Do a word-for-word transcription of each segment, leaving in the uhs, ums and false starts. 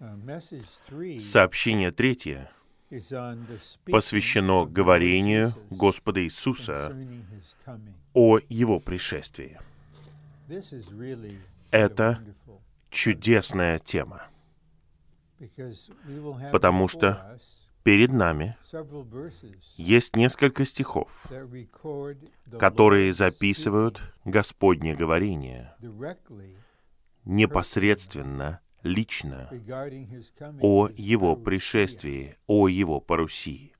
Сообщение третье посвящено говорению Господа Иисуса о Его пришествии. Это чудесная тема, потому что перед нами есть несколько стихов, которые записывают Господне говорение непосредственно, лично о Его пришествии, о Его парусии.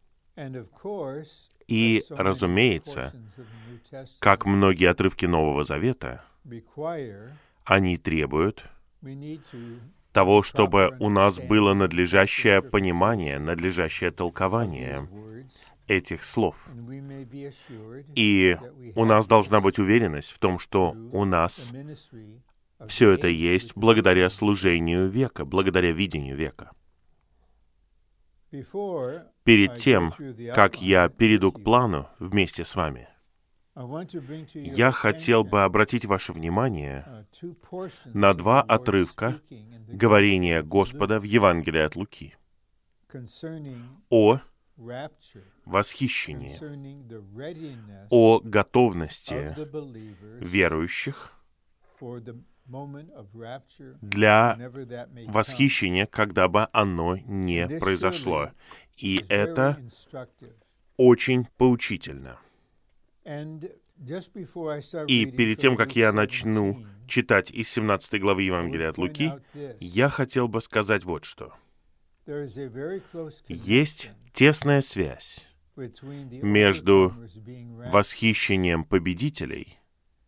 И, разумеется, как многие отрывки Нового Завета, они требуют того, чтобы у нас было надлежащее понимание, надлежащее толкование этих слов. И у нас должна быть уверенность в том, что у нас все это есть благодаря служению века, благодаря видению века. Перед тем, как я перейду к плану вместе с вами, я хотел бы обратить ваше внимание на два отрывка говорения Господа в Евангелии от Луки о восхищении, о готовности верующих для восхищения, когда бы оно не произошло. И это очень поучительно. И перед тем, как я начну читать из семнадцатой главы Евангелия от Луки, я хотел бы сказать вот что. Есть тесная связь между восхищением победителей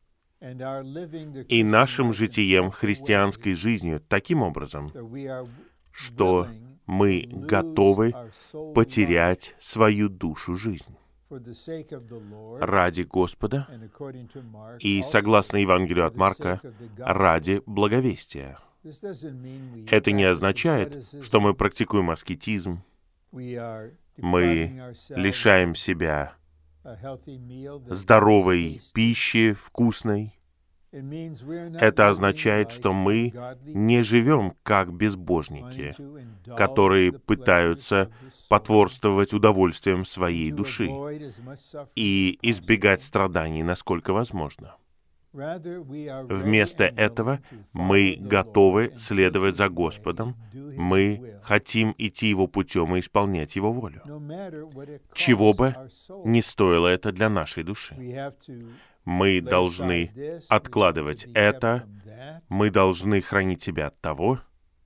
и нашим житием, христианской жизнью, таким образом, что мы готовы потерять свою душу жизнь ради Господа и, согласно Евангелию от Марка, ради благовестия. Это не означает, что мы практикуем аскетизм, мы лишаем себя здоровой пищи, вкусной. Это означает, что мы не живем как безбожники, которые пытаются потворствовать удовольствиям своей души и избегать страданий, насколько возможно. Вместо этого мы готовы следовать за Господом, мы хотим идти Его путем и исполнять Его волю, чего бы ни стоило это для нашей души. Мы должны откладывать это, мы должны хранить себя от того,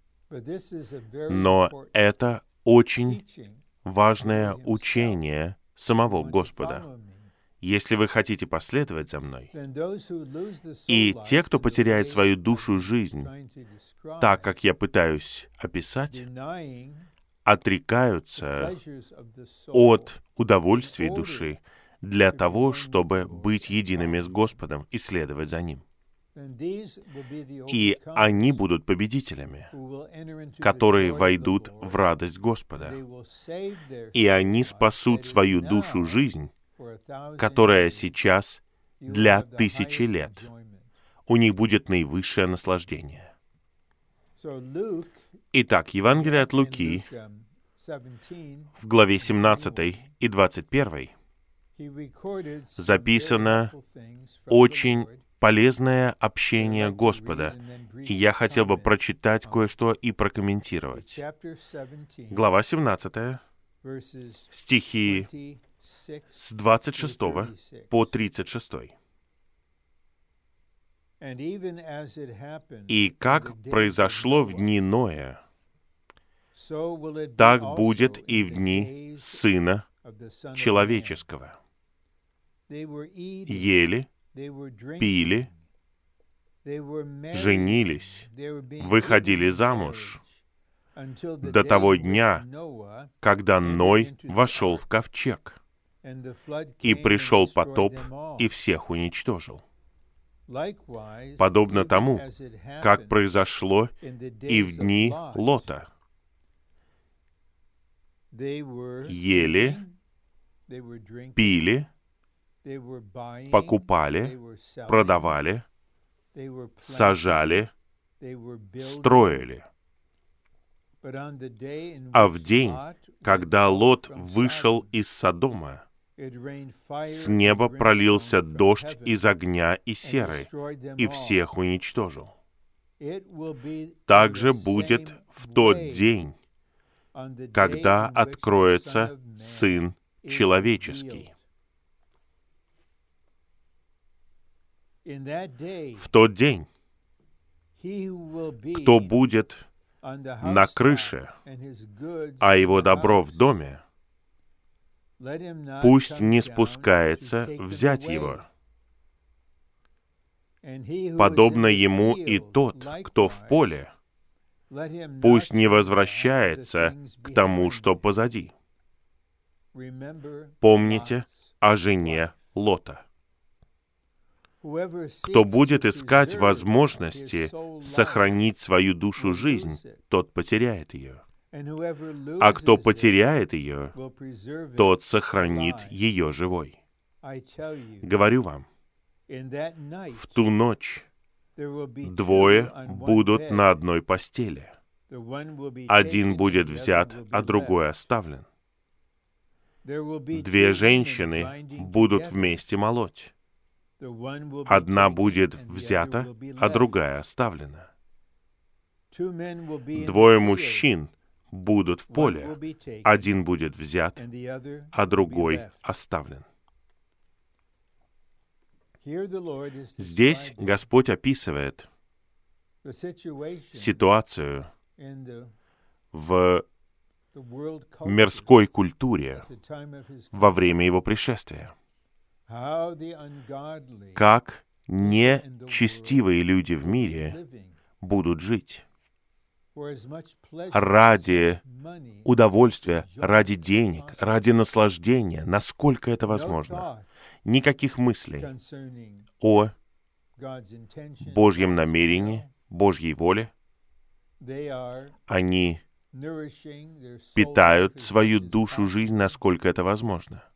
но это очень важное учение самого Господа. Если вы хотите последовать за мной, и те, кто потеряет свою душу жизнь, так, как я пытаюсь описать, отрекаются от удовольствий души для того, чтобы быть едиными с Господом и следовать за Ним. И они будут победителями, которые войдут в радость Господа. И они спасут свою душу жизнь, которая сейчас для тысячи лет. У них будет наивысшее наслаждение. Итак, Евангелие от Луки в главе семнадцатой и двадцать первой записано очень полезное общение Господа, и я хотел бы прочитать кое-что и прокомментировать. Глава семнадцатая, стихи с двадцать шестого по тридцать шестой. «И как произошло в дни Ноя, так будет и в дни Сына Человеческого. Ели, пили, женились, выходили замуж до того дня, когда Ной вошел в ковчег, и пришел потоп и всех уничтожил. Подобно тому, как произошло и в дни Лота. Ели, пили, покупали, продавали, сажали, строили. А в день, когда Лот вышел из Содома, с неба пролился дождь из огня и серы, и всех уничтожил. Так же будет в тот день, когда откроется Сын Человеческий. В тот день, кто будет на крыше, а его добро в доме, пусть не спускается взять его. Подобно ему и тот, кто в поле, пусть не возвращается к тому, что позади. Помните о жене Лота. Кто будет искать возможности сохранить свою душу жизнь, тот потеряет ее. А кто потеряет ее, тот сохранит ее живой. Говорю вам, в ту ночь двое будут на одной постели. Один будет взят, а другой оставлен. Две женщины будут вместе молоть. Одна будет взята, а другая оставлена. Двое мужчин будут в поле. Один будет взят, а другой оставлен. Здесь Господь описывает ситуацию в мирской культуре во время Его пришествия. Как нечестивые люди в мире будут жить ради удовольствия, ради денег, ради наслаждения, насколько это возможно. Никаких мыслей о Божьем намерении, Божьей воле. Они питают свою душу, жизнь, насколько это возможно.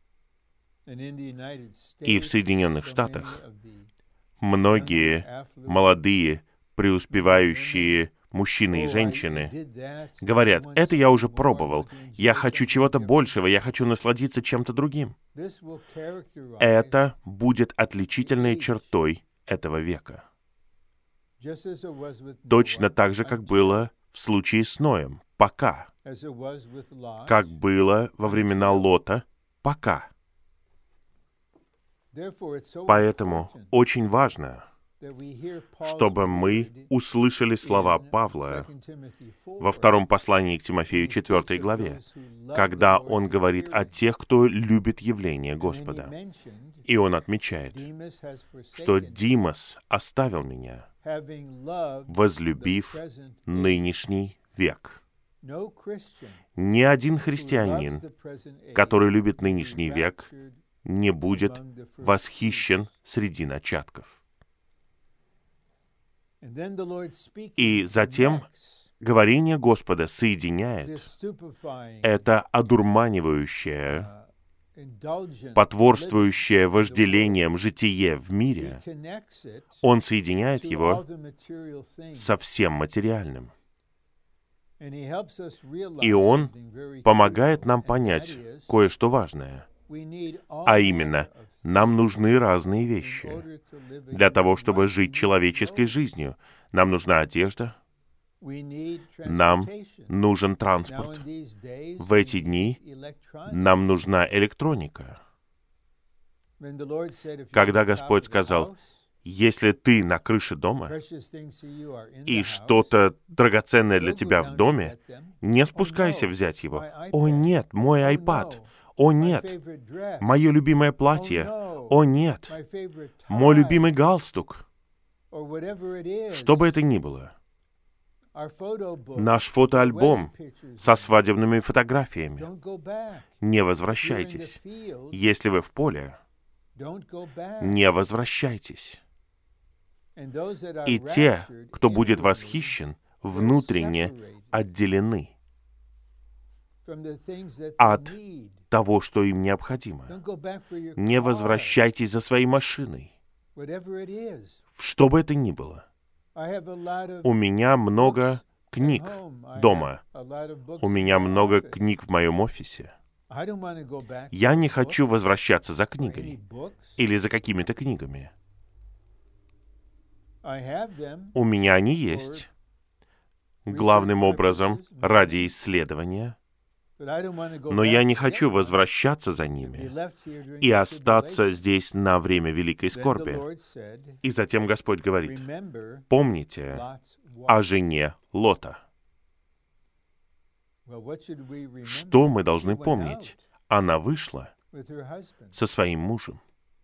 И в Соединенных Штатах многие молодые, преуспевающие мужчины и женщины говорят: «Это я уже пробовал, я хочу чего-то большего, я хочу насладиться чем-то другим». Это будет отличительной чертой этого века. Точно так же, как было в случае с Ноем, пока. Как было во времена Лота, пока. Поэтому очень важно, чтобы мы услышали слова Павла во втором послании к Тимофею, четвёртой главе, когда он говорит о тех, кто любит явление Господа. И он отмечает, что Димас оставил меня, возлюбив нынешний век. Ни один христианин, который любит нынешний век, не будет восхищен среди начатков. И затем говорение Господа соединяет это одурманивающее, потворствующее вожделением житие в мире. Он соединяет его со всем материальным. И он помогает нам понять кое-что важное. А именно, нам нужны разные вещи для того, чтобы жить человеческой жизнью. Нам нужна одежда, нам нужен транспорт. В эти дни нам нужна электроника. Когда Господь сказал: «Если ты на крыше дома, и что-то драгоценное для тебя в доме, не спускайся взять его». «О нет, мой iPad». «О нет, мое любимое платье». «О нет, мой любимый галстук». Что бы это ни было. Наш фотоальбом со свадебными фотографиями. Не возвращайтесь. Если вы в поле, не возвращайтесь. И те, кто будет восхищен, внутренне отделены от того, что им необходимо. Не возвращайтесь за своей машиной. Что бы это ни было. У меня много книг дома. У меня много книг в моем офисе. Я не хочу возвращаться за книгой или за какими-то книгами. У меня они есть, главным образом ради исследования, но я не хочу возвращаться за ними и остаться здесь на время великой скорби. И затем Господь говорит: помните о жене Лота. Что мы должны помнить? Она вышла со своим мужем.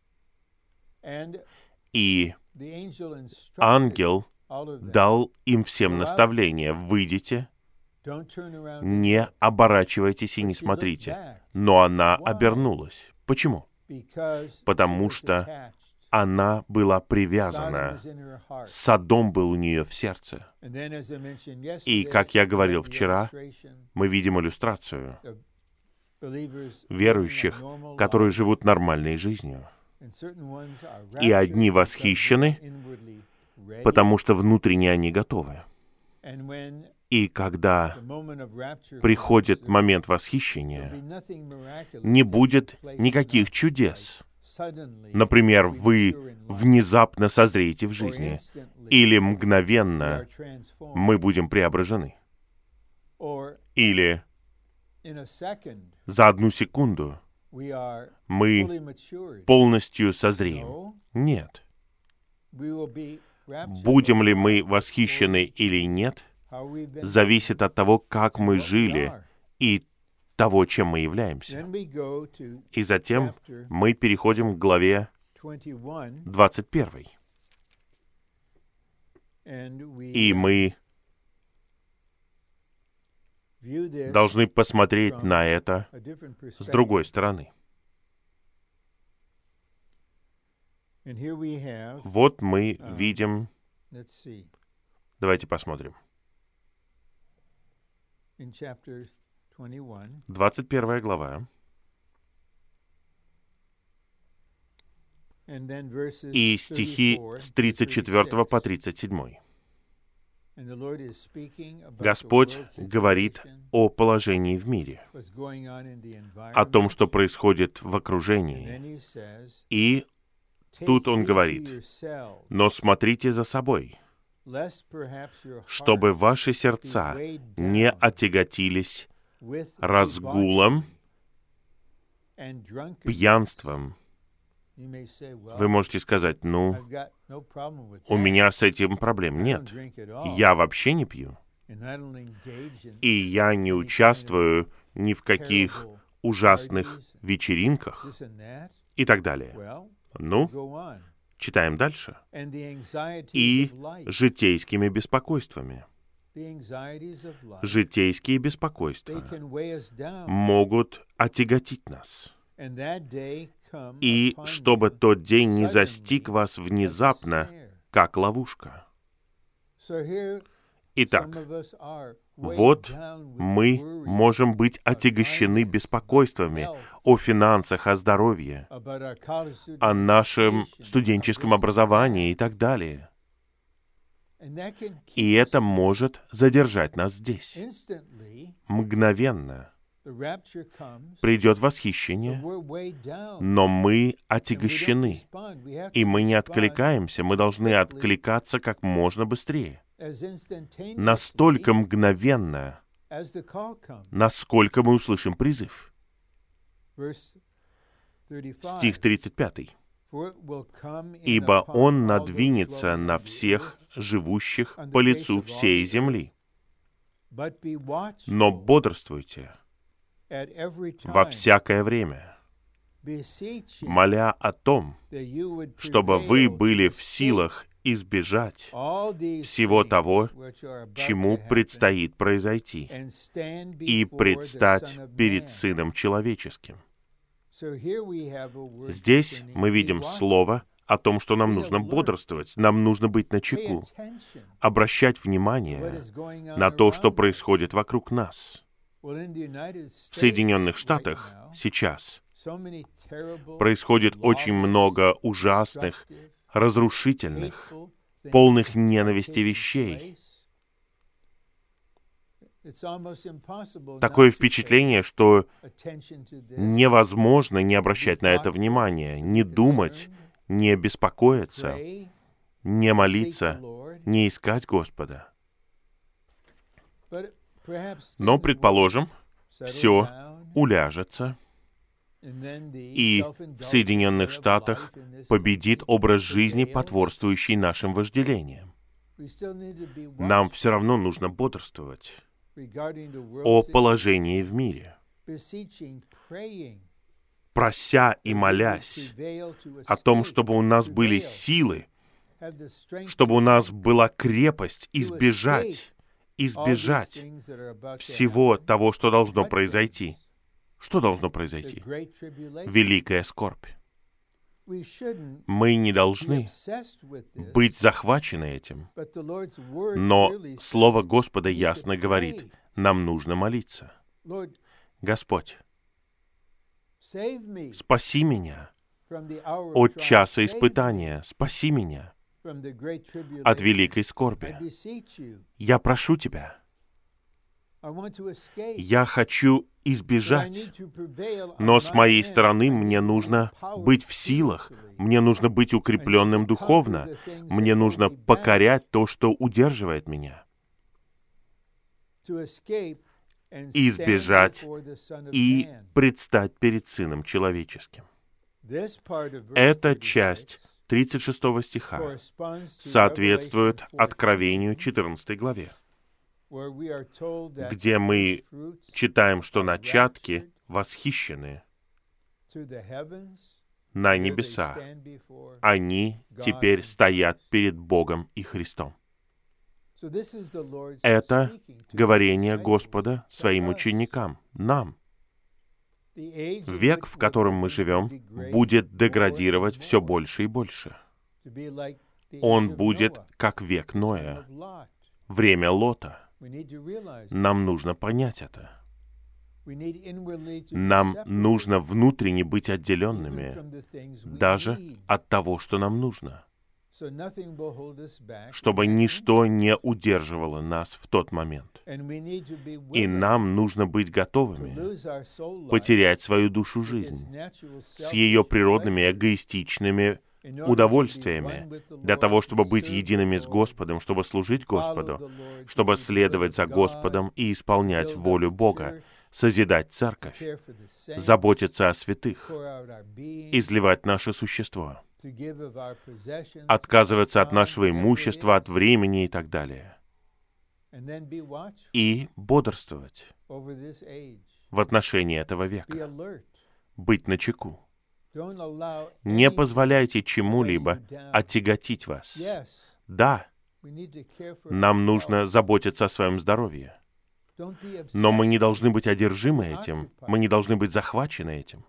И ангел дал им всем наставление: выйдите, не оборачивайтесь и не смотрите. Но она обернулась. Почему? Потому что она была привязана. Содом был у нее в сердце. И, как я говорил вчера, мы видим иллюстрацию верующих, которые живут нормальной жизнью. И одни восхищены, потому что внутренне они готовы. И когда приходит момент восхищения, не будет никаких чудес. Например, вы внезапно созреете в жизни, или мгновенно мы будем преображены, или за одну секунду мы полностью созреем. Нет. Будем ли мы восхищены или нет, зависит от того, как мы жили и того, чем мы являемся. И затем мы переходим к главе двадцать первой. И мы должны посмотреть на это с другой стороны. Вот мы видим... Давайте посмотрим. двадцать первая глава. И стихи с тридцать четвёртого по тридцать седьмой. Господь говорит о положении в мире, о том, что происходит в окружении. И тут Он говорит: «Но смотрите за собой, чтобы ваши сердца не отяготились разгулом, пьянством». Вы можете сказать: ну, у меня с этим проблем нет. Я вообще не пью. И я не участвую ни в каких ужасных вечеринках и так далее. Ну, читаем дальше. И житейскими беспокойствами. Житейские беспокойства могут отяготить нас. И чтобы тот день не застиг вас внезапно, как ловушка. Итак, вот мы можем быть отягощены беспокойствами о финансах, о здоровье, о нашем студенческом образовании и так далее. И это может задержать нас здесь. Мгновенно придет восхищение, но мы отягощены, и мы не откликаемся, мы должны откликаться как можно быстрее. Настолько мгновенно, насколько мы услышим призыв. Стих тридцать пятый. «Ибо Он надвинется на всех живущих по лицу всей земли. Но бодрствуйте во всякое время, моля о том, чтобы вы были в силах избежать всего того, чему предстоит произойти, и предстать перед Сыном Человеческим». Здесь мы видим слово о том, что нам нужно бодрствовать, нам нужно быть начеку, обращать внимание на то, что происходит вокруг нас. В Соединенных Штатах сейчас происходит очень много ужасных, разрушительных, полных ненависти вещей. Такое впечатление, что невозможно не обращать на это внимание, не думать, не беспокоиться, не молиться, не искать Господа. Но, предположим, все уляжется, и в Соединенных Штатах победит образ жизни, потворствующий нашим вожделениям. Нам все равно нужно бодрствовать о положении в мире, прося и молясь о том, чтобы у нас были силы, чтобы у нас была крепость избежать, избежать всего того, что должно произойти. Что должно произойти? Великая скорбь. Мы не должны быть захвачены этим, но Слово Господа ясно говорит, нам нужно молиться. Господь, спаси меня от часа испытания, спаси меня от великой скорби. Я прошу Тебя, я хочу избежать, но с моей стороны мне нужно быть в силах, мне нужно быть укрепленным духовно, мне нужно покорять то, что удерживает меня, избежать и предстать перед Сыном Человеческим. Эта часть тридцать шестого стиха соответствует Откровению четырнадцатой главе, где мы читаем, что начатки восхищены на небеса. Они теперь стоят перед Богом и Христом. Это говорение Господа своим ученикам, нам. Век, в котором мы живем, будет деградировать все больше и больше. Он будет как век Ноя, время Лота. Нам нужно понять это. Нам нужно внутренне быть отделенными даже от того, что нам нужно, чтобы ничто не удерживало нас в тот момент. И нам нужно быть готовыми потерять свою душу жизнь с ее природными эгоистичными удовольствиями, для того, чтобы быть едиными с Господом, чтобы служить Господу, чтобы следовать за Господом и исполнять волю Бога, созидать церковь, заботиться о святых, изливать наше существо, отказываться от нашего имущества, от времени и так далее, и бодрствовать в отношении этого века, быть начеку. Не позволяйте чему-либо отяготить вас. Да, нам нужно заботиться о своем здоровье, но мы не должны быть одержимы этим, мы не должны быть захвачены этим.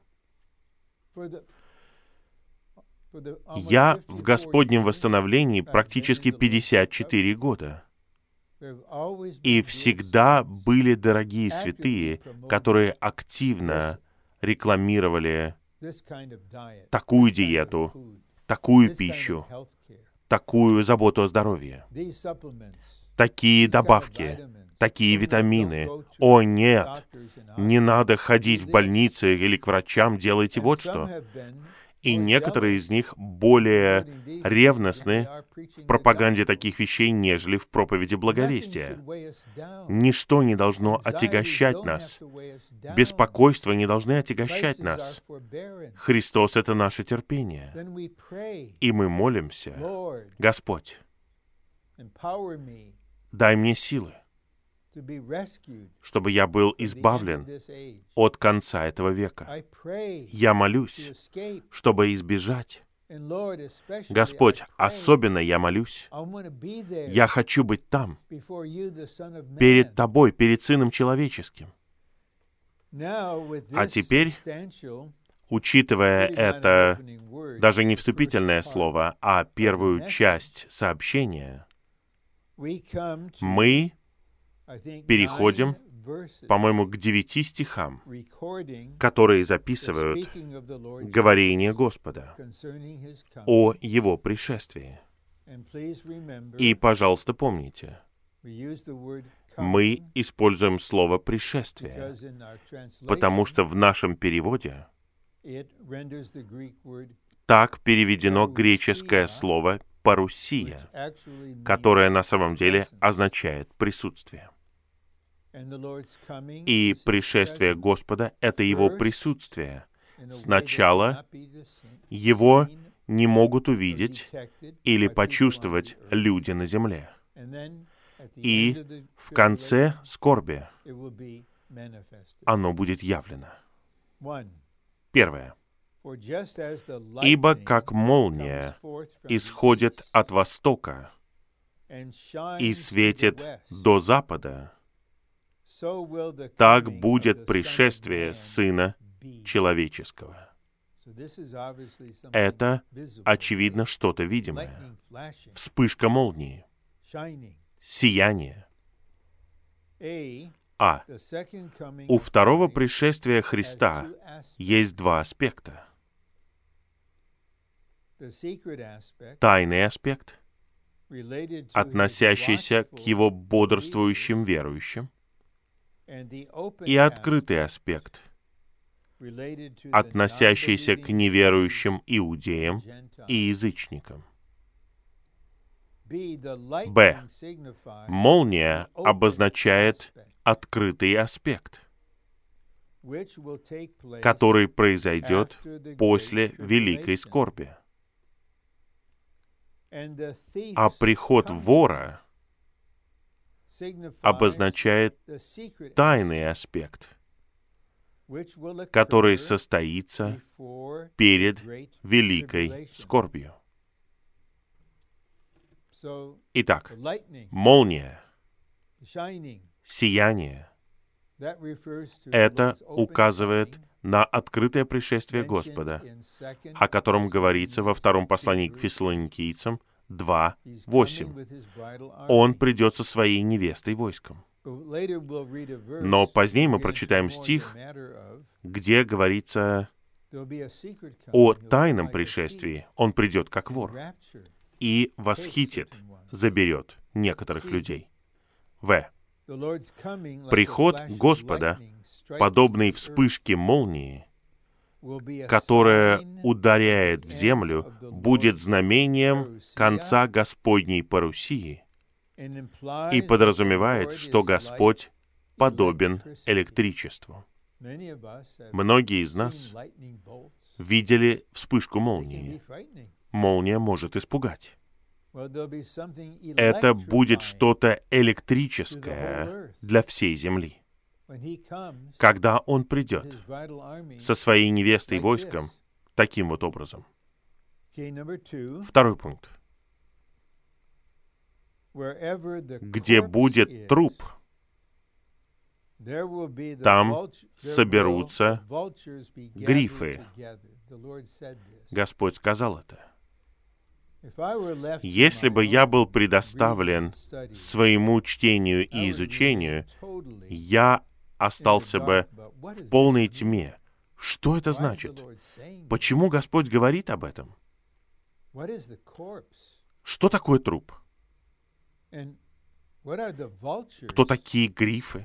Я в Господнем восстановлении практически пятьдесят четыре года. И всегда были дорогие святые, которые активно рекламировали такую диету, такую пищу, такую заботу о здоровье, такие добавки, такие витамины. О, нет, не надо ходить в больницы или к врачам, делайте вот что. И некоторые из них более ревностны в пропаганде таких вещей, нежели в проповеди благовестия. Ничто не должно отягощать нас. Беспокойство не должны отягощать нас. Христос — это наше терпение. И мы молимся: Господь, дай мне силы, чтобы я был избавлен от конца этого века. Я молюсь, чтобы избежать. Господь, особенно я молюсь. Я хочу быть там, перед Тобой, перед Сыном Человеческим. А теперь, учитывая это, даже не вступительное слово, а первую часть сообщения, мы переходим, по-моему, к девяти стихам, которые записывают говорение Господа о Его пришествии. И, пожалуйста, помните, Мы используем слово «пришествие», потому что в нашем переводе так переведено греческое слово «парусия», которое на самом деле означает «присутствие». И пришествие Господа — это Его присутствие. Сначала Его не могут увидеть или почувствовать люди на земле. И в конце скорби оно будет явлено. Первое. «Ибо как молния исходит от востока и светит до запада, так будет пришествие Сына Человеческого». Это, очевидно, что-то видимое. Вспышка молнии, сияние. А. У второго пришествия Христа есть два аспекта. Тайный аспект, относящийся к Его бодрствующим верующим, и открытый аспект, относящийся к неверующим иудеям и язычникам. Б. Молния обозначает открытый аспект, который произойдет после великой скорби. А приход вора обозначает тайный аспект, который состоится перед великой скорбью. Итак, молния, сияние — это указывает на открытое пришествие Господа, о котором говорится во втором послании к Фессалоникийцам два восемь. Он придет со своей невестой войском. Но позднее мы прочитаем стих, где говорится о тайном пришествии. Он придет как вор и восхитит, заберет некоторых людей. В. Приход Господа, подобный вспышке молнии, которая ударяет в землю, будет знамением конца Господней парусии и подразумевает, что Господь подобен электричеству. Многие из нас видели вспышку молнии. Молния может испугать. Это будет что-то электрическое для всей земли. Когда Он придет со своей невестой и войском таким вот образом. Второй пункт. Где будет труп, там соберутся грифы. Господь сказал это. Если бы я был предоставлен своему чтению и изучению, я остался бы в полной тьме. Что это значит? Почему Господь говорит об этом? Что такое труп? Кто такие грифы?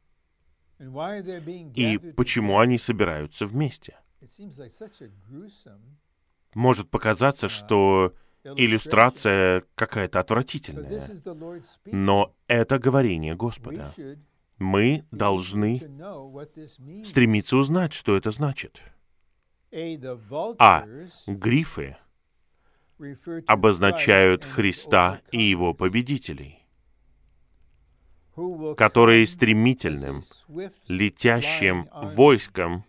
И почему они собираются вместе? Может показаться, что иллюстрация какая-то отвратительная, но это говорение Господа. Мы должны стремиться узнать, что это значит. А. Грифы обозначают Христа и Его победителей, которые стремительным, летящим войском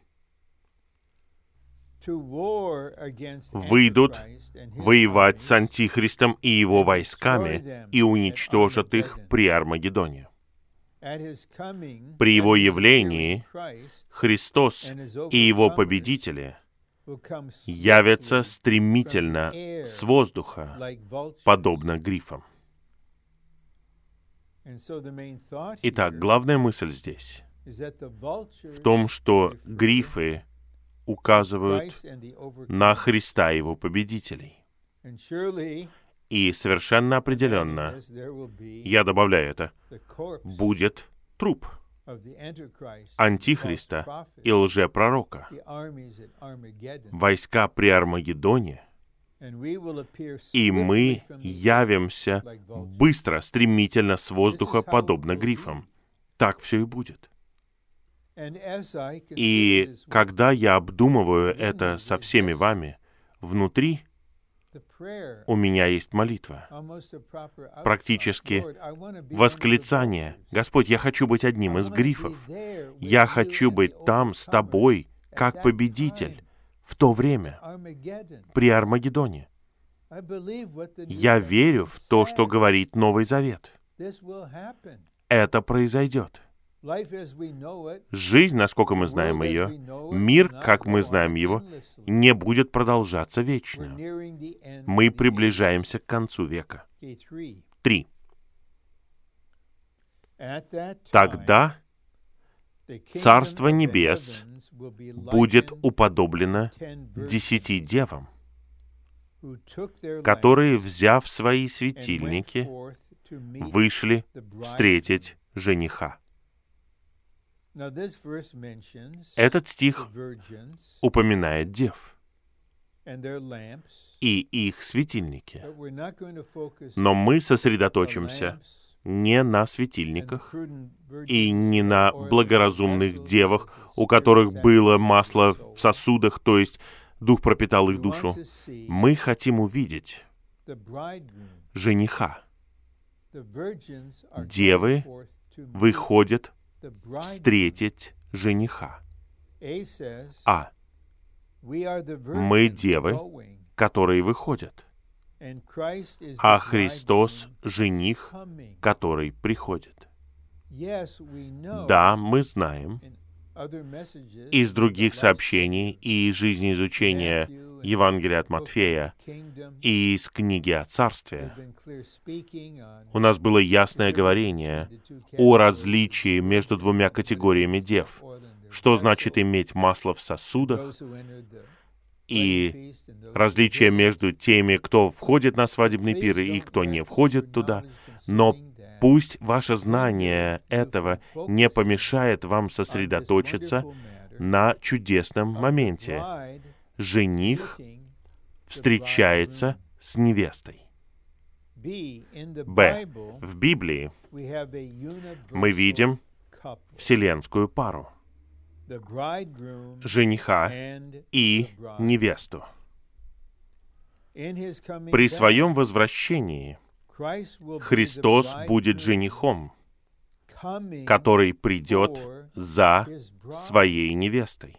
выйдут воевать с Антихристом и его войсками и уничтожат их при Армагеддоне. При Его явлении Христос и Его победители явятся стремительно с воздуха, подобно грифам. Итак, главная мысль здесь в том, что грифы указывают на Христа и Его победителей. И совершенно определенно, я добавляю это, будет труп Антихриста и лжепророка, войска при Армагеддоне, и мы явимся быстро, стремительно с воздуха, подобно грифам. Так все и будет. И когда я обдумываю это со всеми вами, внутри у меня есть молитва, практически восклицание. Господь, я хочу быть одним из грифов. Я хочу быть там с Тобой, как победитель, в то время, при Армагеддоне. Я верю в то, что говорит Новый Завет. Это произойдет. Жизнь, насколько мы знаем ее, мир, как мы знаем его, не будет продолжаться вечно. Мы приближаемся к концу века. Три. Тогда Царство Небес будет уподоблено десяти девам, которые, взяв свои светильники, вышли встретить жениха. Этот стих упоминает дев и их светильники. Но мы сосредоточимся не на светильниках и не на благоразумных девах, у которых было масло в сосудах, то есть Дух пропитал их душу. Мы хотим увидеть жениха. Девы выходят встретить жениха. А. Мы девы, которые выходят, а Христос — жених, который приходит. Да, мы знаем из других сообщений и из жизнеизучения Евангелия от Матфея и из книги о Царстве, у нас было ясное говорение о различии между двумя категориями дев. Что значит иметь масло в сосудах, и различие между теми, кто входит на свадебный пир и кто не входит туда. Но пусть ваше знание этого не помешает вам сосредоточиться на чудесном моменте. Жених встречается с невестой. Б. В Библии мы видим вселенскую пару — жениха и невесту. При своем возвращении Христос будет женихом, который придет за своей невестой.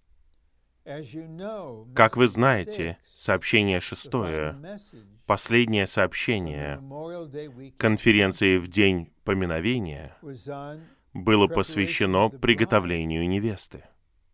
Как вы знаете, сообщение шестое, последнее сообщение конференции в День поминовения, было посвящено приготовлению невесты.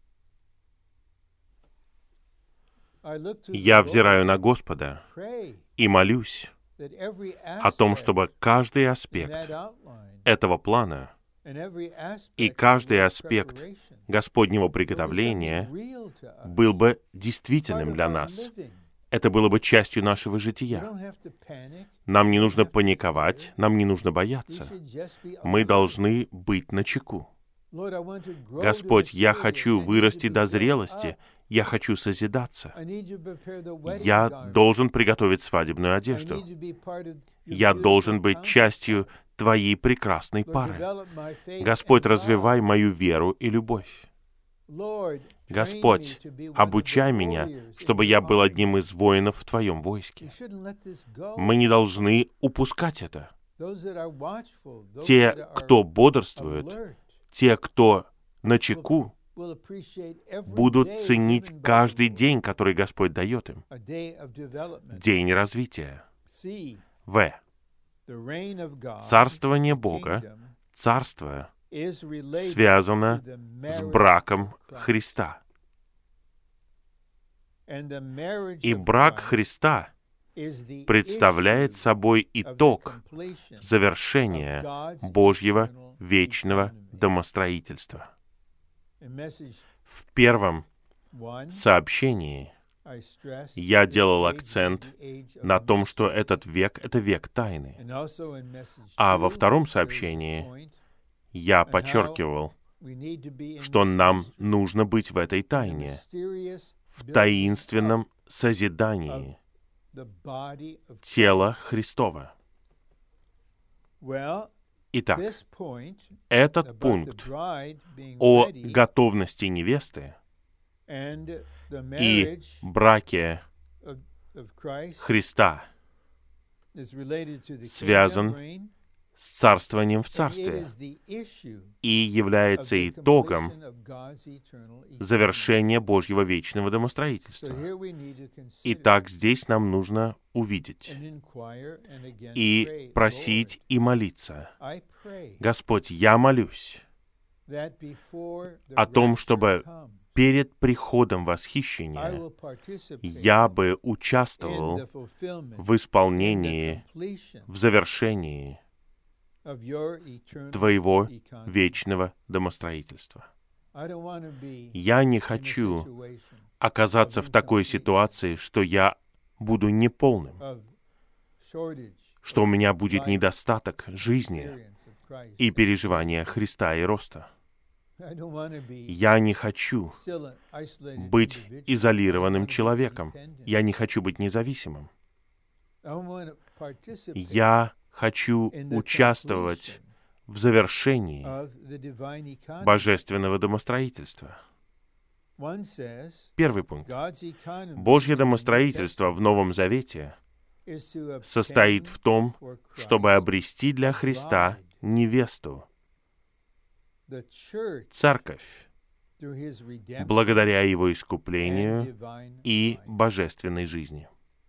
Я взираю на Господа и молюсь о том, чтобы каждый аспект этого плана и каждый аспект Господнего приготовления был бы действительным для нас. Это было бы частью нашего жития. Нам не нужно паниковать, нам не нужно бояться. Мы должны быть начеку. Господь, я хочу вырасти до зрелости, я хочу созидаться. Я должен приготовить свадебную одежду. Я должен быть частью Твоей прекрасной пары. Господь, развивай мою веру и любовь. Господь, обучай меня, чтобы я был одним из воинов в Твоем войске. Мы не должны упускать это. Те, кто бодрствует, те, кто начеку, будут ценить каждый день, который Господь дает им. День развития. В. Царствование Бога, царство, связано с браком Христа. И брак Христа представляет собой итог завершения Божьего вечного домостроительства. В первом сообщении я делал акцент на том, что этот век — это век тайны. А во втором сообщении я подчеркивал, что нам нужно быть в этой тайне, в таинственном созидании тела Христова. Итак, этот пункт о готовности невесты и браке Христа связан с царствованием в царстве и является итогом завершения Божьего вечного домостроительства. Итак, здесь нам нужно увидеть и просить и молиться. Господь, я молюсь о том, чтобы перед приходом восхищения я бы участвовал в исполнении, в завершении Твоего вечного домостроительства. Я не хочу оказаться в такой ситуации, что я буду неполным, что у меня будет недостаток жизни и переживания Христа и роста. Я не хочу быть изолированным человеком. Я не хочу быть независимым. Я хочу участвовать в завершении божественного домостроительства. Первый пункт. Божье домостроительство в Новом Завете состоит в том, чтобы обрести для Христа невесту, церковь, благодаря Его искуплению и божественной жизни.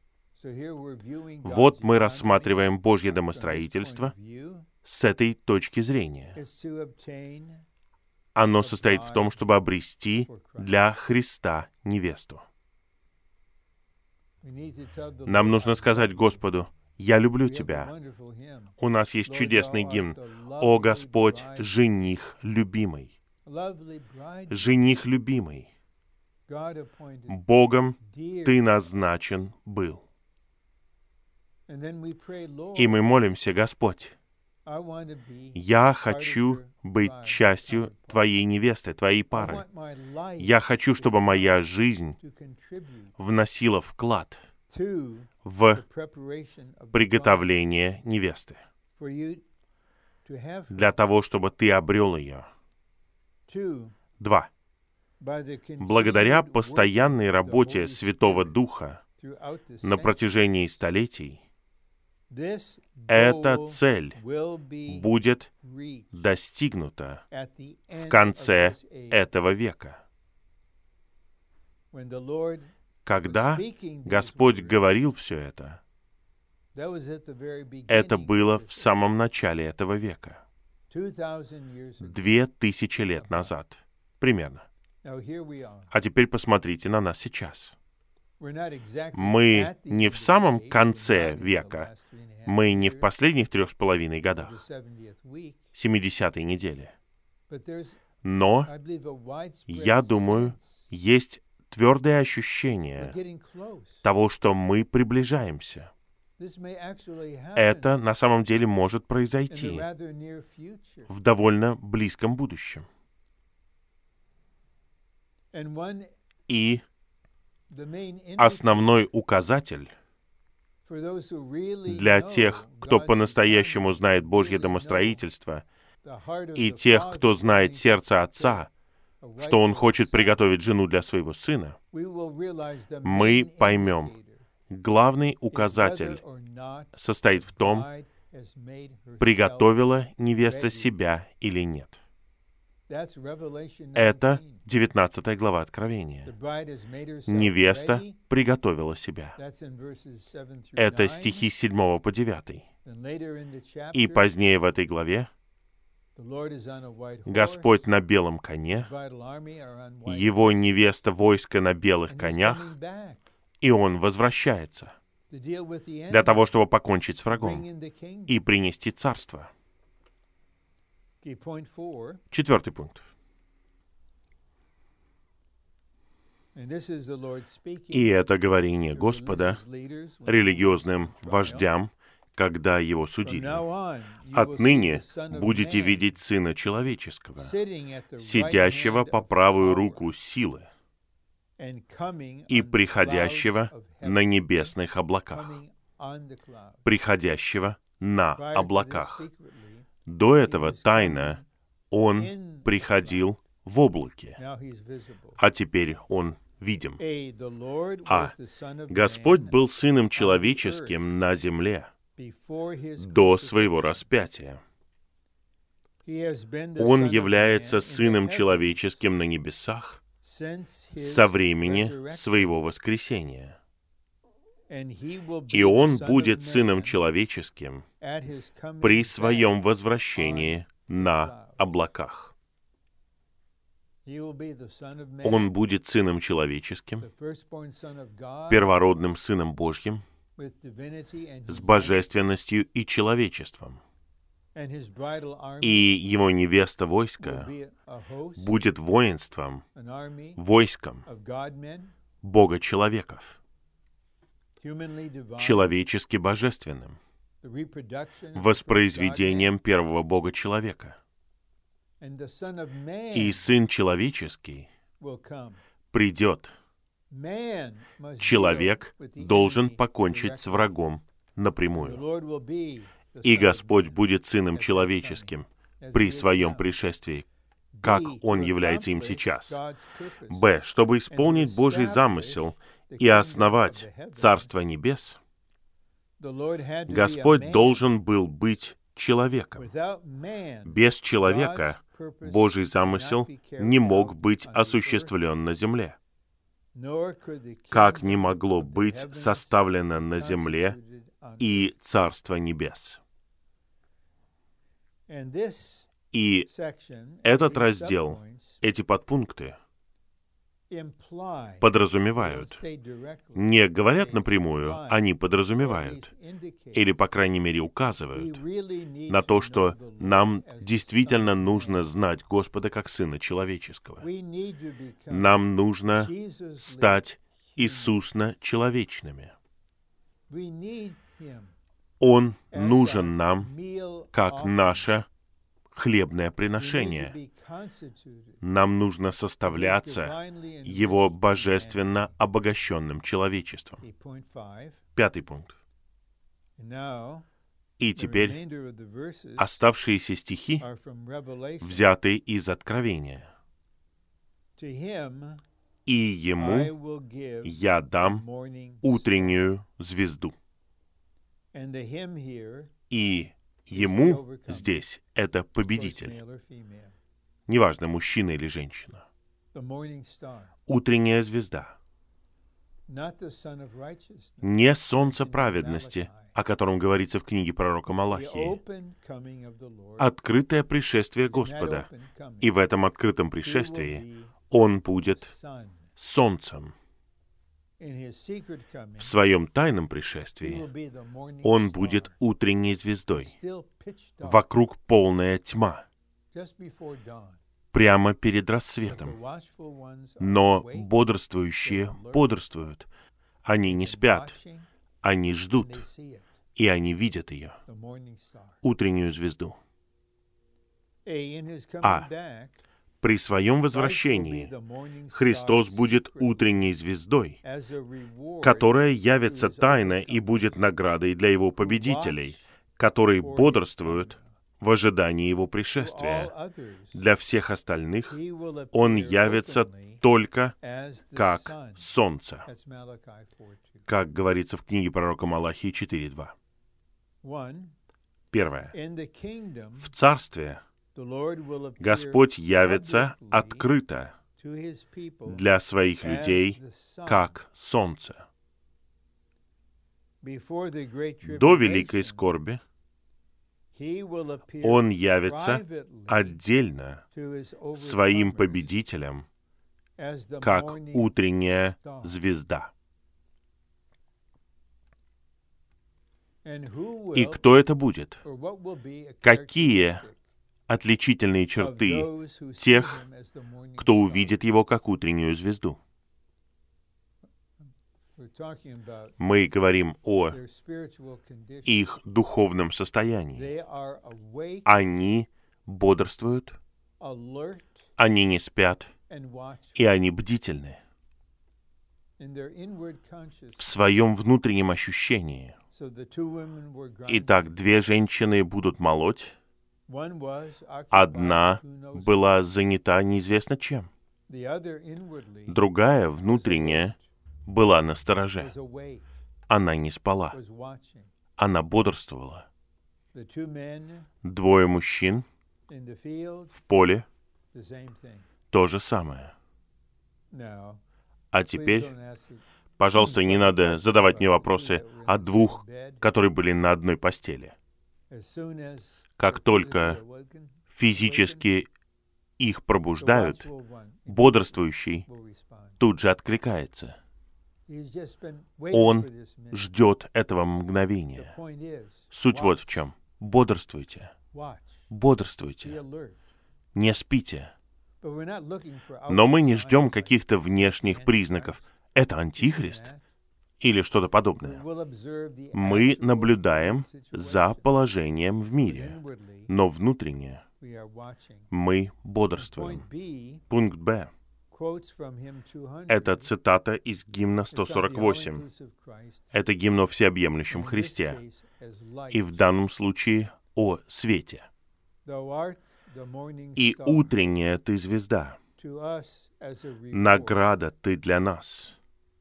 Вот мы рассматриваем Божье домостроительство с этой точки зрения. Оно состоит в том, чтобы обрести для Христа невесту. Нам нужно сказать Господу: «Я люблю Тебя». У нас есть чудесный гимн: «О Господь, жених любимый». Жених любимый. Богом Ты назначен был. И мы молимся: Господь, я хочу быть частью Твоей невесты, Твоей пары. Я хочу, чтобы моя жизнь вносила вклад в приготовление невесты, для того, чтобы Ты обрел ее. Два. Благодаря постоянной работе Святого Духа на протяжении столетий, эта цель будет достигнута в конце этого века. Когда Господь говорил все это, это было в самом начале этого века, две тысячи лет назад, примерно. А теперь посмотрите на нас сейчас. Мы не в самом конце века, мы не в последних трех с половиной годах, семидесятой неделе. Но, я думаю, есть твердое ощущение того, что мы приближаемся. Это на самом деле может произойти в довольно близком будущем. И основной указатель для тех, кто по-настоящему знает Божье домостроительство, и тех, кто знает сердце Отца, что Он хочет приготовить жену для своего сына, мы поймем, главный указатель состоит в том, приготовила невеста себя или нет. Это девятнадцатая глава Откровения. Невеста приготовила себя. Это стихи с седьмого по девятый. И позднее в этой главе Господь на белом коне, Его невеста войско на белых конях, и Он возвращается для того, чтобы покончить с врагом и принести царство. Четвертый пункт. И это говорение Господа религиозным вождям, когда его судили. «Отныне будете видеть Сына Человеческого, сидящего по правую руку силы и приходящего на небесных облаках». Приходящего на облаках. До этого тайно Он приходил в облаке, а теперь Он видим. А Господь был Сыном Человеческим на земле до Своего распятия. Он является Сыном Человеческим на небесах со времени Своего воскресения. И Он будет Сыном Человеческим при Своем возвращении на облаках. Он будет Сыном Человеческим, первородным Сыном Божьим, с божественностью и человечеством. И Его невеста войска будет воинством, войском Бога-человеков, человечески божественным, воспроизведением первого Бога-человека. И Сын Человеческий придет. Человек должен покончить с врагом напрямую. И Господь будет Сыном Человеческим при Своем пришествии, как Он является им сейчас. Б. Чтобы исполнить Божий замысел и основать Царство Небес, Господь должен был быть человеком. Без человека Божий замысел не мог быть осуществлен на земле, как не могло быть составлено на земле и Царство Небес. И этот раздел, эти подпункты подразумевают, не говорят напрямую, они подразумевают, или, по крайней мере, указывают на то, что нам действительно нужно знать Господа как Сына Человеческого. Нам нужно стать Иисусно-человечными. Он нужен нам как наше хлебное приношение. Нам нужно составляться Его божественно обогащенным человечеством. Пятый пункт. И теперь оставшиеся стихи взяты из Откровения. «И Ему я дам утреннюю звезду». И Ему здесь это победитель. Неважно, мужчина или женщина. Утренняя звезда. Не солнце праведности, о котором говорится в книге пророка Малахии. Открытое пришествие Господа. И в этом открытом пришествии Он будет солнцем. В Своем тайном пришествии Он будет утренней звездой. Вокруг полная тьма. Прямо перед рассветом. Но бодрствующие бодрствуют. Они не спят. Они ждут. И они видят ее. Утреннюю звезду. А. При Своем возвращении Христос будет утренней звездой, которая явится тайно и будет наградой для Его победителей, которые бодрствуют в ожидании Его пришествия. Для всех остальных Он явится только как солнце, как говорится в книге пророка Малахии четыре два. Первое. В Царстве Господь явится открыто для Своих людей, как солнце. До великой скорби Он явится отдельно Своим победителям, как утренняя звезда. И кто это будет? Какие отличительные черты тех, кто увидит Его как утреннюю звезду? Мы говорим о их духовном состоянии. Они бодрствуют, они не спят, и они бдительны в своем внутреннем ощущении. Итак, две женщины будут молоть. Одна была занята неизвестно чем. Другая, внутренняя, была настороже. Она не спала. Она бодрствовала. Двое мужчин в поле — то же самое. А теперь, пожалуйста, не надо задавать мне вопросы о двух, которые были на одной постели. Как только физически их пробуждают, бодрствующий тут же откликается. Он ждет этого мгновения. Суть вот в чем. Бодрствуйте. Бодрствуйте. Не спите. Но мы не ждем каких-то внешних признаков. Это антихрист или что-то подобное. Мы наблюдаем за положением в мире, но внутренне мы бодрствуем. Пункт Б. Это цитата из гимна сто сорок восемь. Это гимн о всеобъемлющем Христе. И в данном случае о свете. И утренняя ты звезда. Награда ты для нас.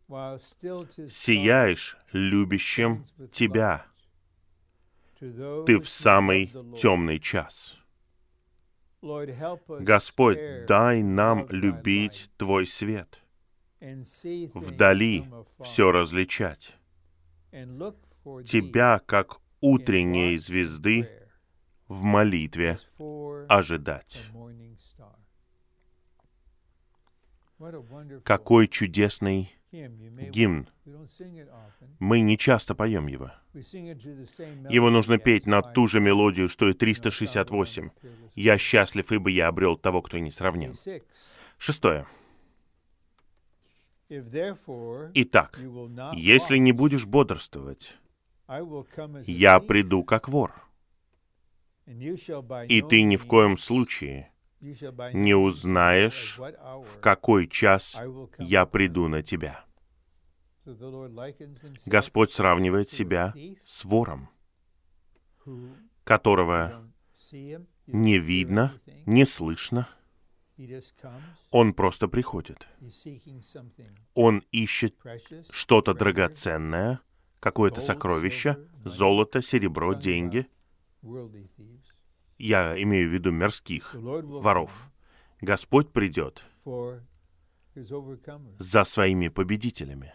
Сияешь любящим тебя. Ты в самый темный час. Господь, дай нам любить Твой свет, вдали все различать, Тебя, как утренней звезды, в молитве ожидать. Какой чудесный гимн. Мы не часто поем его. Его нужно петь на ту же мелодию, что и триста шестьдесят восемь. «Я счастлив, ибо я обрел того, кто не сравнен». Шестое. Итак, если не будешь бодрствовать, я приду как вор, и ты ни в коем случае не узнаешь, в какой час я приду на тебя. Господь сравнивает себя с вором, которого не видно, не слышно. Он просто приходит. Он ищет что-то драгоценное, какое-то сокровище, золото, серебро, деньги. Я имею в виду мирских воров. Господь придет за своими победителями.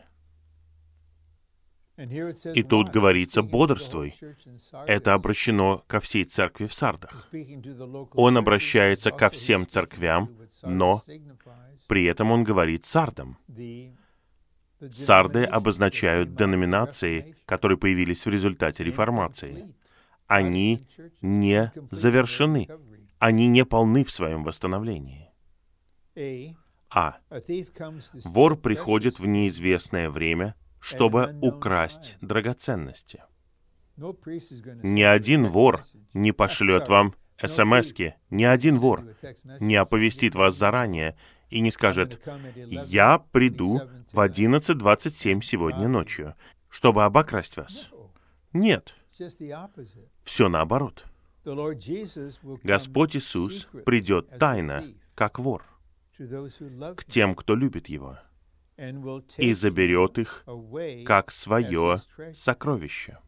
И тут говорится «бодрствуй». Это обращено ко всей церкви в Сардах. Он обращается ко всем церквям, но при этом он говорит Сардам. Сарды обозначают деноминации, которые появились в результате реформации. Они не завершены. Они не полны в своем восстановлении. А. Вор приходит в неизвестное время, чтобы украсть драгоценности. Ни один вор не пошлет вам эс-эм-эски, ни один вор не оповестит вас заранее и не скажет: «Я приду в одиннадцать двадцать семь сегодня ночью, чтобы обокрасть вас». Нет. Все наоборот. Господь Иисус придет тайно, как вор, к тем, кто любит Его, и заберет их, как свое сокровище.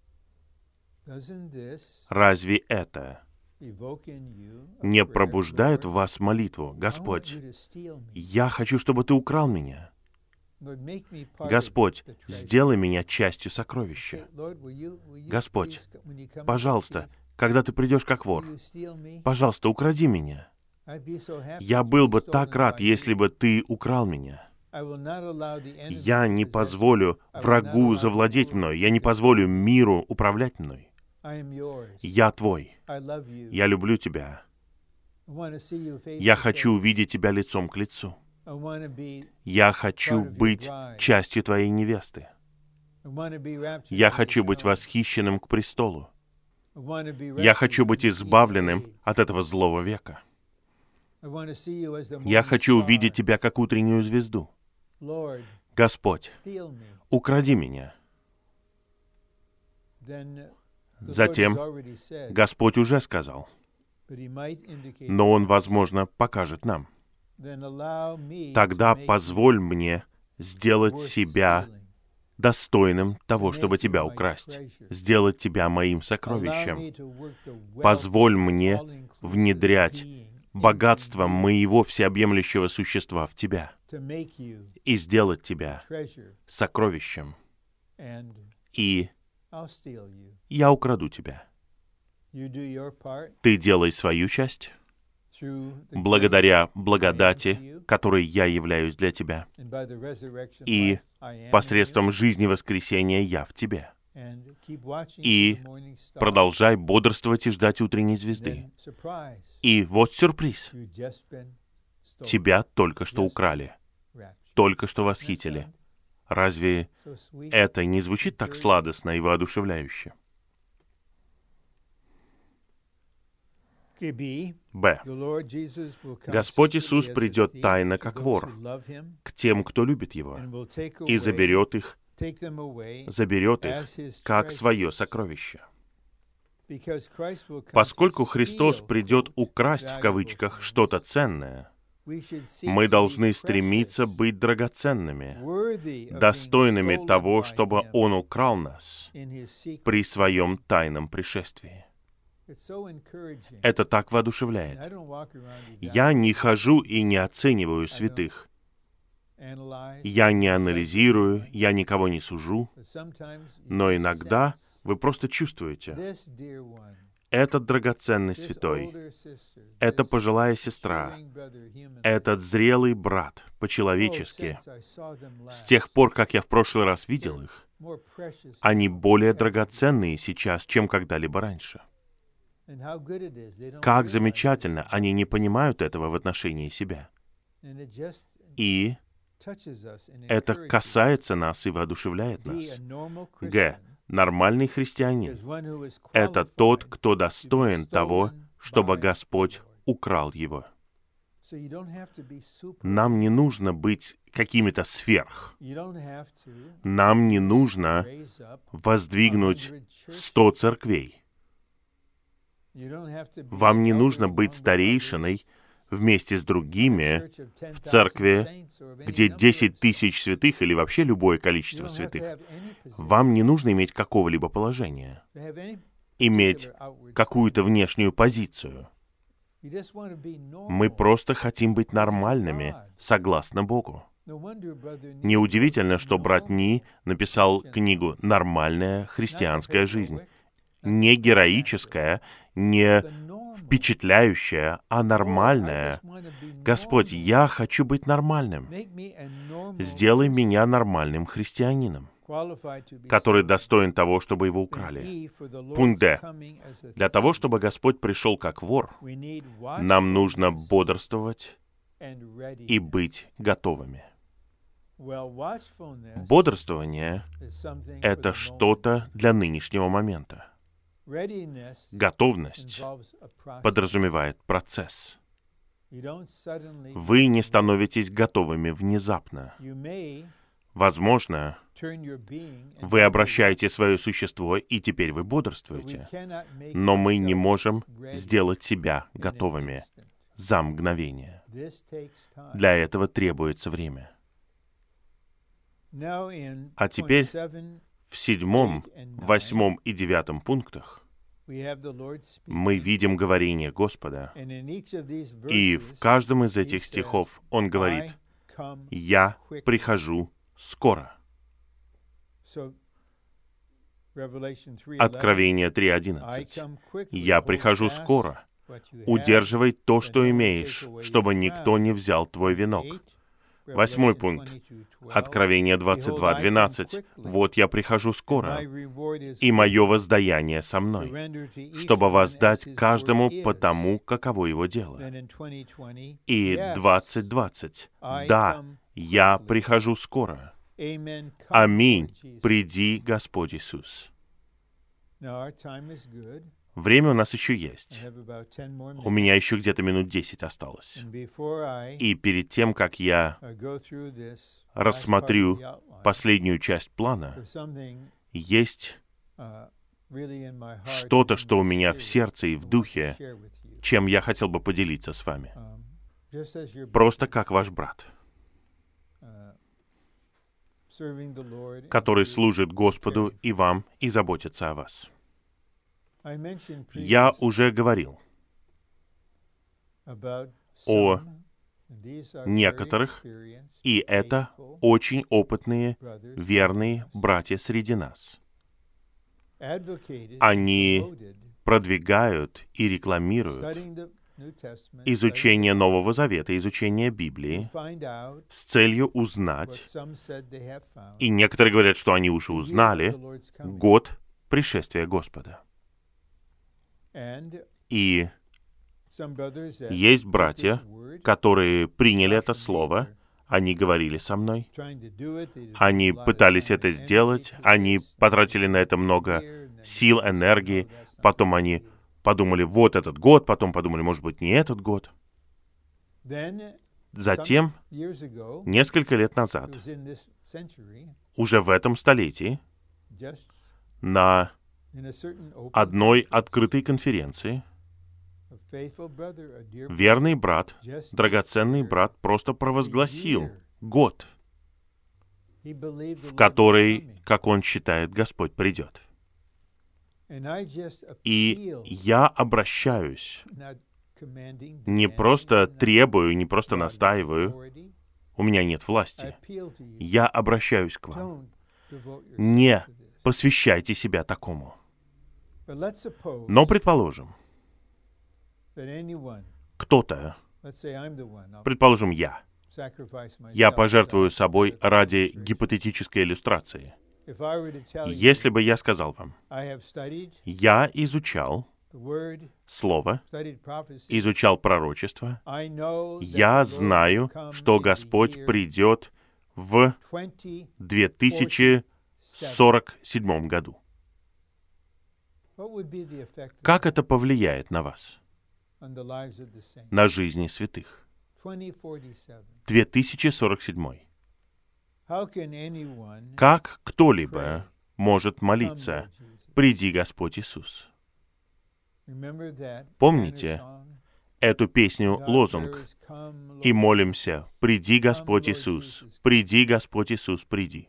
Разве это не пробуждает в вас молитву: «Господь, я хочу, чтобы Ты украл меня. Господь, сделай меня частью сокровища. Господь, пожалуйста, когда Ты придешь как вор, пожалуйста, укради меня. Я был бы так рад, если бы Ты украл меня». Я не позволю врагу завладеть мной. Я не позволю миру управлять мной. Я Твой. Я люблю Тебя. Я хочу увидеть Тебя лицом к лицу. Я хочу быть частью Твоей невесты. Я хочу быть восхищенным к престолу. Я хочу быть избавленным от этого злого века. Я хочу увидеть Тебя как утреннюю звезду. Господь, укради меня. Затем Господь уже сказал, но Он, возможно, покажет нам. Тогда позволь мне сделать себя достойным того, чтобы Тебя украсть, сделать Тебя моим сокровищем. Позволь мне внедрять богатство моего всеобъемлющего существа в Тебя и сделать Тебя сокровищем. И я украду Тебя. Ты делай свою часть благодаря благодати, которой я являюсь для Тебя, и посредством жизни воскресения я в Тебе. И продолжай бодрствовать и ждать утренней звезды. И вот сюрприз. Тебя только что украли, только что восхитили. Разве это не звучит так сладостно и воодушевляюще? Б. Господь Иисус придет тайно, как вор, к тем, кто любит Его, и заберет их, заберет их, как свое сокровище. Поскольку Христос придет украсть, в кавычках, что-то ценное, мы должны стремиться быть драгоценными, достойными того, чтобы Он украл нас при Своем тайном пришествии. Это так воодушевляет. Я не хожу и не оцениваю святых. Я не анализирую, я никого не сужу. Но иногда вы просто чувствуете, этот драгоценный святой, эта пожилая сестра, этот зрелый брат, по-человечески, с тех пор, как я в прошлый раз видел их, они более драгоценные сейчас, чем когда-либо раньше. Как замечательно, они не понимают этого в отношении себя. И это касается нас и воодушевляет нас. Г. Нормальный христианин — это тот, кто достоин того, чтобы Господь украл его. Нам не нужно быть какими-то сверх. Нам не нужно воздвигнуть сто церквей. Вам не нужно быть старейшиной вместе с другими в церкви, где десять тысяч святых или вообще любое количество святых. Вам не нужно иметь какого-либо положения, иметь какую-то внешнюю позицию. Мы просто хотим быть нормальными, согласно Богу. Неудивительно, что брат Ни написал книгу «Нормальная христианская жизнь». Не героическая, не впечатляющая, а нормальная. Господь, я хочу быть нормальным. Сделай меня нормальным христианином, который достоин того, чтобы его украли. Пункт Д. Для того, чтобы Господь пришел как вор, нам нужно бодрствовать и быть готовыми. Бодрствование — это что-то для нынешнего момента. Готовность подразумевает процесс. Вы не становитесь готовыми внезапно. Возможно, вы обращаете свое существо, и теперь вы бодрствуете. Но мы не можем сделать себя готовыми за мгновение. Для этого требуется время. А теперь в седьмом, восьмом и девятом пунктах мы видим говорение Господа. И в каждом из этих стихов Он говорит: «Я прихожу скоро». Откровение три одиннадцать. «Я прихожу скоро. Удерживай то, что имеешь, чтобы никто не взял твой венок. Восьмой пункт. Откровение двадцать два двенадцать. «Вот я прихожу скоро, и мое воздаяние со мной, чтобы воздать каждому по тому, каково его дело». И двадцать двадцать. «Да, я прихожу скоро. Аминь. Приди, Господь Иисус». Время у нас еще есть. У меня еще где-то минут десять осталось. И перед тем, как я рассмотрю последнюю часть плана, есть что-то, что у меня в сердце и в духе, чем я хотел бы поделиться с вами. Просто как ваш брат, который служит Господу и вам, и заботится о вас. Я уже говорил о некоторых, и это очень опытные, верные братья среди нас. Они продвигают и рекламируют изучение Нового Завета, изучение Библии с целью узнать, и некоторые говорят, что они уже узнали, год пришествия Господа. И есть братья, которые приняли это слово, они говорили со мной, они пытались это сделать, они потратили на это много сил, энергии, потом они подумали, вот этот год, потом подумали, может быть, не этот год. Затем, несколько лет назад, уже в этом столетии, на одной открытой конференции верный брат, драгоценный брат, просто провозгласил год, в который, как он считает, Господь придет. И я обращаюсь, не просто требую, не просто настаиваю, у меня нет власти. Я обращаюсь к вам. Не посвящайте себя такому. Но предположим, кто-то, предположим, я, я пожертвую собой ради гипотетической иллюстрации. Если бы я сказал вам, я изучал Слово, изучал пророчество, я знаю, что Господь придет в две тысячи сорок седьмом году. Как это повлияет на вас, на жизни святых? две тысячи сорок седьмой. Как кто-либо может молиться «Приди, Господь Иисус»? Помните эту песню-лозунг? И молимся «Приди, Господь Иисус! Приди, Господь Иисус, приди!»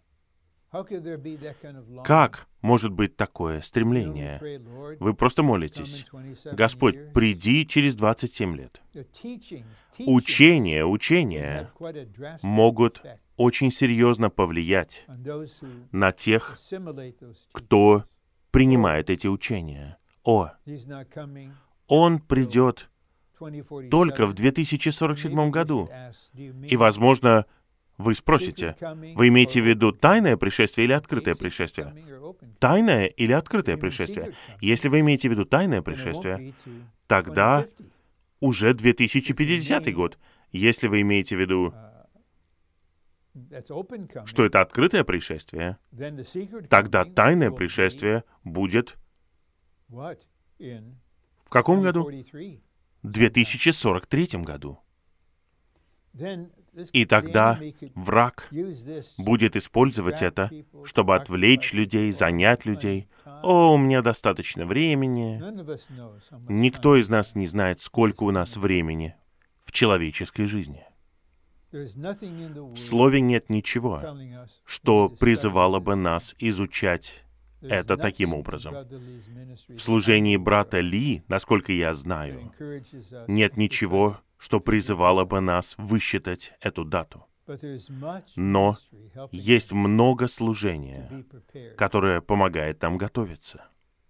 Как может быть такое стремление? Вы просто молитесь: «Господь, приди через двадцать семь лет». Учения, учения могут очень серьезно повлиять на тех, кто принимает эти учения. О, Он придет только в две тысячи сорок седьмом году. И, возможно, вы спросите, вы имеете в виду тайное пришествие или открытое пришествие? Тайное или открытое пришествие? Если вы имеете в виду тайное пришествие, тогда уже две тысячи пятидесятый год. Если вы имеете в виду, что это открытое пришествие, тогда тайное пришествие будет в каком году? В две тысячи сорок третьем году. И тогда враг будет использовать это, чтобы отвлечь людей, занять людей. «О, у меня достаточно времени». Никто из нас не знает, сколько у нас времени в человеческой жизни. В Слове нет ничего, что призывало бы нас изучать это таким образом. В служении брата Ли, насколько я знаю, нет ничего, что призывало бы нас высчитать эту дату. Но есть много служения, которое помогает нам готовиться.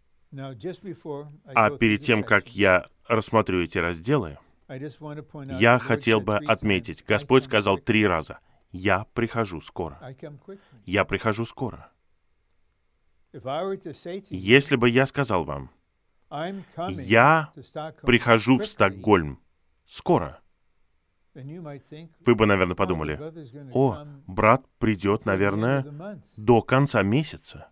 А перед тем, как я рассмотрю эти разделы, я хотел бы отметить, Господь сказал три раза: Я прихожу скоро. Я прихожу скоро. Если бы я сказал вам, я прихожу в Стокгольм скоро, вы бы, наверное, подумали, о, брат придет, наверное, до конца месяца.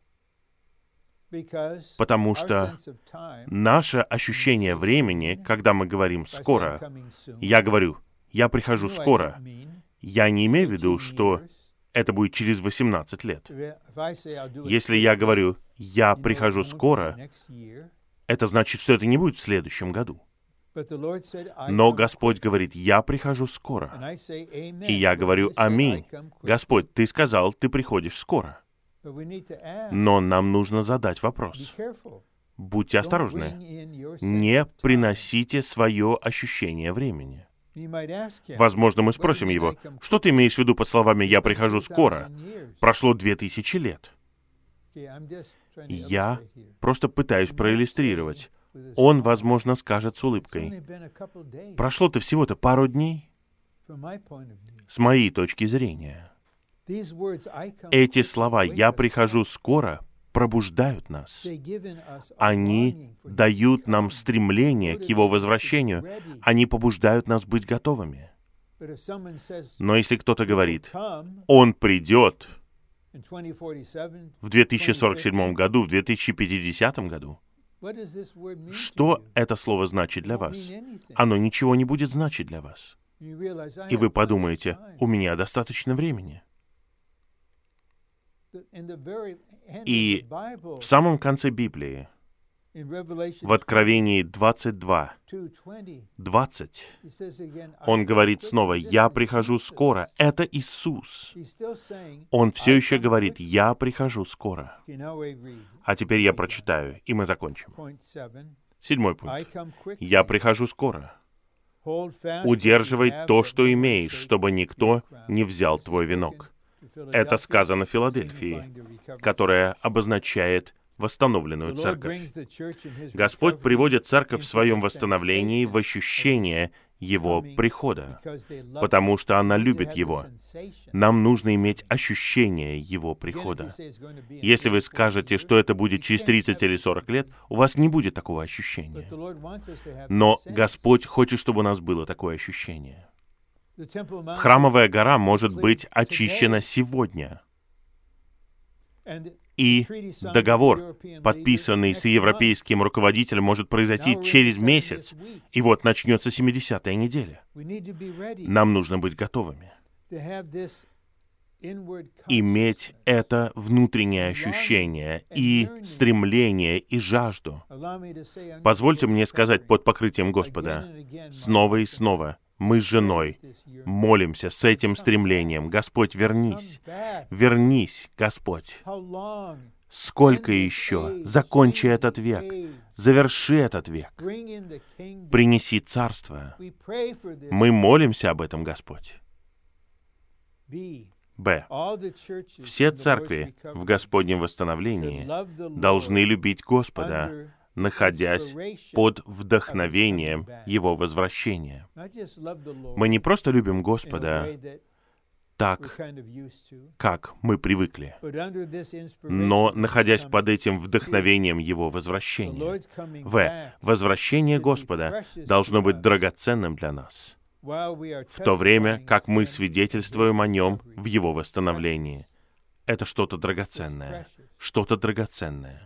Потому что наше ощущение времени, когда мы говорим «скоро», я говорю «я прихожу скоро», я не имею в виду, что это будет через восемнадцать лет. Если я говорю «я прихожу скоро», это значит, что это не будет в следующем году. Но Господь говорит «я прихожу скоро». И я говорю «Аминь». Господь, Ты сказал, Ты приходишь скоро. Но нам нужно задать вопрос. Будьте осторожны. Не приносите свое ощущение времени. Возможно, мы спросим его, что ты имеешь в виду под словами «я прихожу скоро»? Прошло две тысячи лет. Я просто пытаюсь проиллюстрировать. Он, возможно, скажет с улыбкой. Прошло-то всего-то пару дней. С моей точки зрения. Эти слова «я прихожу скоро» пробуждают нас. Они дают нам стремление к Его возвращению. Они побуждают нас быть готовыми. Но если кто-то говорит, «Он придет в две тысячи сорок седьмом году, в две тысячи пятидесятом году», что это слово значит для вас? Оно ничего не будет значить для вас. И вы подумаете, у меня достаточно времени. И в самом конце Библии, в Откровении двадцать два, двадцать, он говорит снова, «Я прихожу скоро». Это Иисус. Он все еще говорит, «Я прихожу скоро». А теперь я прочитаю, и мы закончим. Седьмой пункт. «Я прихожу скоро. Удерживай то, что имеешь, чтобы никто не взял твой венок». Это сказано Филадельфии, которая обозначает восстановленную церковь. Господь приводит церковь в своем восстановлении в ощущение Его прихода, потому что она любит Его. Нам нужно иметь ощущение Его прихода. Если вы скажете, что это будет через тридцать или сорок лет, у вас не будет такого ощущения. Но Господь хочет, чтобы у нас было такое ощущение. Храмовая гора может быть очищена сегодня. И договор, подписанный с европейским руководителем, может произойти через месяц. И вот начнется семидесятая неделя. Нам нужно быть готовыми. Иметь это внутреннее ощущение и стремление и жажду. Позвольте мне сказать под покрытием Господа снова и снова. Мы с женой молимся с этим стремлением. Господь, вернись. Вернись, Господь. Сколько еще? Закончи этот век. Заверши этот век. Принеси царство. Мы молимся об этом, Господь. Б. Все церкви в Господнем восстановлении должны любить Господа, находясь под вдохновением Его возвращения. Мы не просто любим Господа так, как мы привыкли, но находясь под этим вдохновением Его возвращения. В. Возвращение Господа должно быть драгоценным для нас, в то время как мы свидетельствуем о Нем в Его восстановлении. Это что-то драгоценное, что-то драгоценное.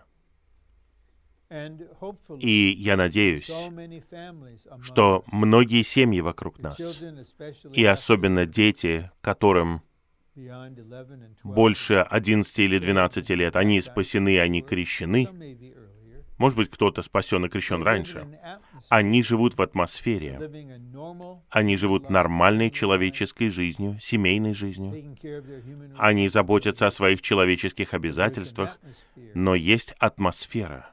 И я надеюсь, что многие семьи вокруг нас, и особенно дети, которым больше одиннадцати или двенадцати лет, они спасены, они крещены, может быть, кто-то спасен и крещен раньше, они живут в атмосфере, они живут нормальной человеческой жизнью, семейной жизнью, они заботятся о своих человеческих обязательствах, но есть атмосфера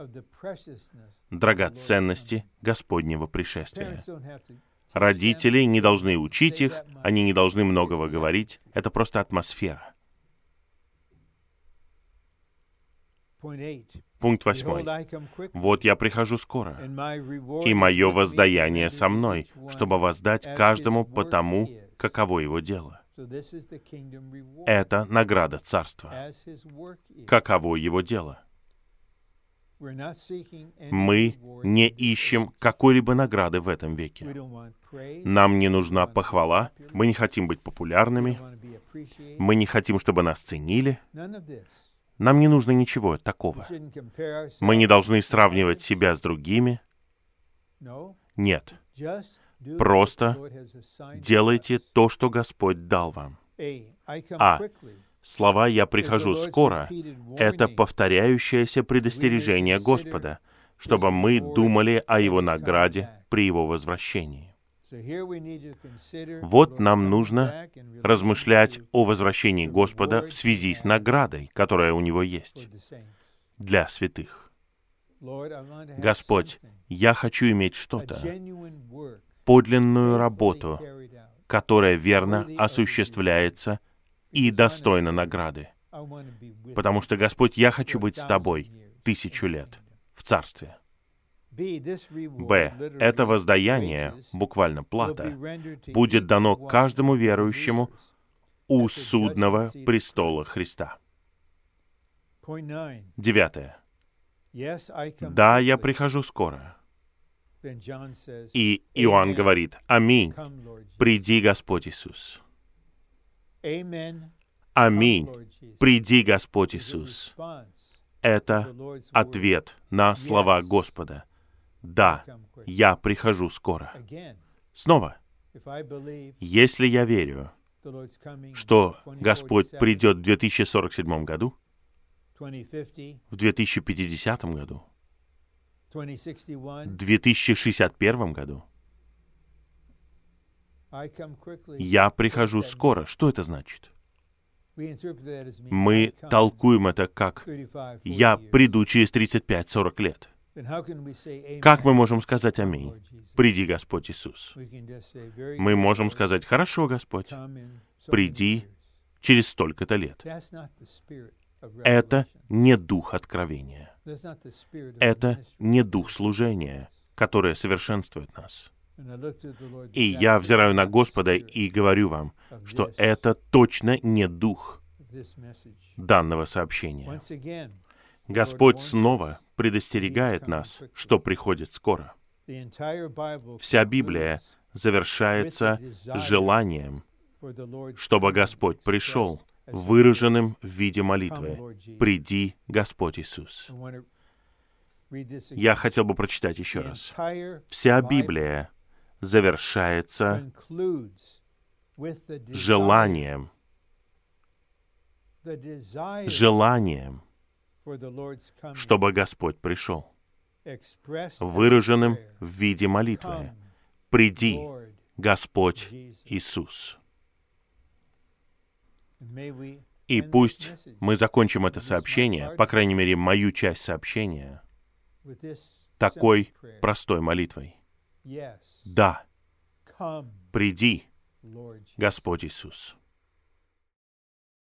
драгоценности Господнего пришествия. Родители не должны учить их, они не должны многого говорить. Это просто атмосфера. Пункт восьмой. «Вот я прихожу скоро, и мое воздаяние со мной, чтобы воздать каждому по тому, каково его дело». Это награда Царства. Каково его дело? Мы не ищем какой-либо награды в этом веке. Нам не нужна похвала, мы не хотим быть популярными, мы не хотим, чтобы нас ценили. Нам не нужно ничего такого. Мы не должны сравнивать себя с другими. Нет. Просто делайте то, что Господь дал вам. А. Слова «я прихожу скоро» — это повторяющееся предостережение Господа, чтобы мы думали о Его награде при Его возвращении. Вот нам нужно размышлять о возвращении Господа в связи с наградой, которая у Него есть для святых. Господь, я хочу иметь что-то, подлинную работу, которая верно осуществляется и достойна награды. Потому что, Господь, я хочу быть с Тобой тысячу лет в Царстве. Б. Это воздаяние, буквально плата, будет дано каждому верующему у судного престола Христа. Девятое. Да, я прихожу скоро. И Иоанн говорит: «Аминь, приди, Господь Иисус». Аминь, приди, Господь Иисус. Это ответ на слова Господа. Да, я прихожу скоро. Снова, если я верю, что Господь придет в две тысячи сорок седьмом году, в две тысячи пятидесятом году, в две тысячи шестьдесят первом году, я прихожу скоро. Что это значит? Мы толкуем это как «я приду через тридцать пять сорок лет». Как мы можем сказать «Аминь»? Приди, Господь Иисус. Мы можем сказать: «Хорошо, Господь, приди через столько-то лет». Это не дух откровения. Это не дух служения, которое совершенствует нас. И я взираю на Господа и говорю вам, что это точно не дух данного сообщения. Господь снова предостерегает нас, что приходит скоро. Вся Библия завершается желанием, чтобы Господь пришел, выраженным в виде молитвы: «Приди, Господь Иисус». Я хотел бы прочитать еще раз. Вся Библия завершается желанием, желанием, чтобы Господь пришел, выраженным в виде молитвы: «Приди, Господь Иисус». И пусть мы закончим это сообщение, по крайней мере, мою часть сообщения, такой простой молитвой: «Да, приди, Господь Иисус».